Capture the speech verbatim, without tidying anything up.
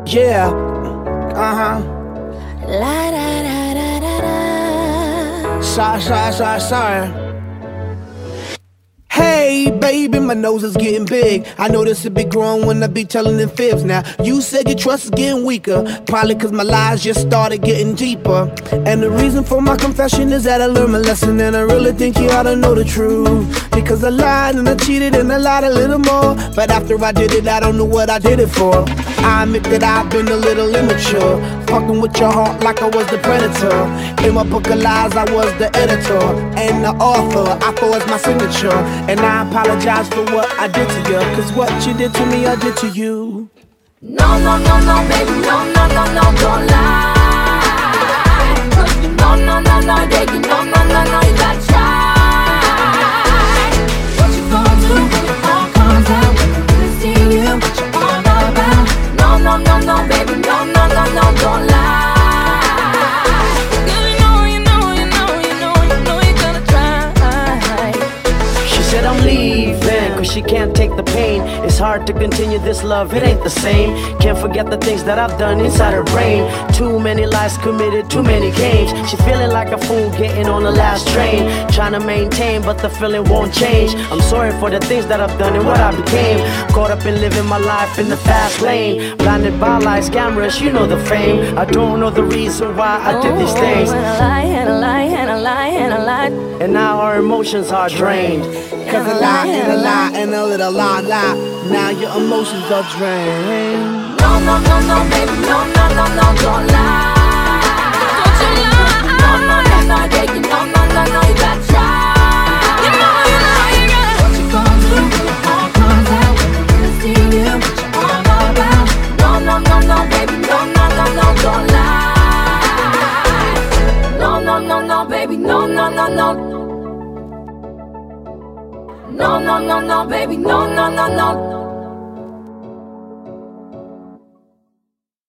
Yeah, uh-huh. La da da da da da. Sorry, sorry, sorry, sorry. Hey, baby, my nose is getting big. I notice it be growing when I be telling them fibs. Now, you said your trust is getting weaker, probably cause my lies just started getting deeper. And the reason for my confession is that I learned my lesson, and I really think you ought to know the truth. Because I lied and I cheated and I lied a little more, but after I did it, I don't know what I did it for. I admit that I've been a little immature, fucking with your heart like I was the predator. In my book of lies, I was the editor and the author. I forged my signature, and I apologize for what I did to you, cause what you did to me, I did to you. No, no, no, no, baby, no, no, no, no, don't lie. No, no, no, no, baby, no, no, no, no, you gotta try. What you gonna do when it all comes out? When I really see you, what you all about? No, no, no, no, baby, no, no, no, no, don't lie. Girl, you know, you know, you know, you know, you know you gotta try. She said I'm leaving, cause she can't take the pain. It's hard to continue this love, it ain't the same. Can't forget the things that I've done inside her brain. Too many lies committed, too many games. She feeling like a fool getting on the last train, trying to maintain, but the feeling won't change. I'm sorry for the things that I've done and what I became. Caught up in living my life in the fast lane, blinded by lies, cameras, you know the fame. I don't know the reason why I did these things. And I lie, and I lie, and I lie, and I lie. And now our emotions are drained. Cause a lie and a lie and a little lie lie, now your emotions are drained. No, no, no, no, baby, no, no, no, no, don't lie. Don't you lie. No, no, no, no, baby, no, no, no, no, you gotta try. You know, you know, you gotta. What you gonna do when it all comes out? When I really see you, what you all about? No, no, no, no, baby, no, no, no, no, don't lie. No, no, no, no, baby, no, no, no, no. No, no, no, no, baby, no, no, no, no.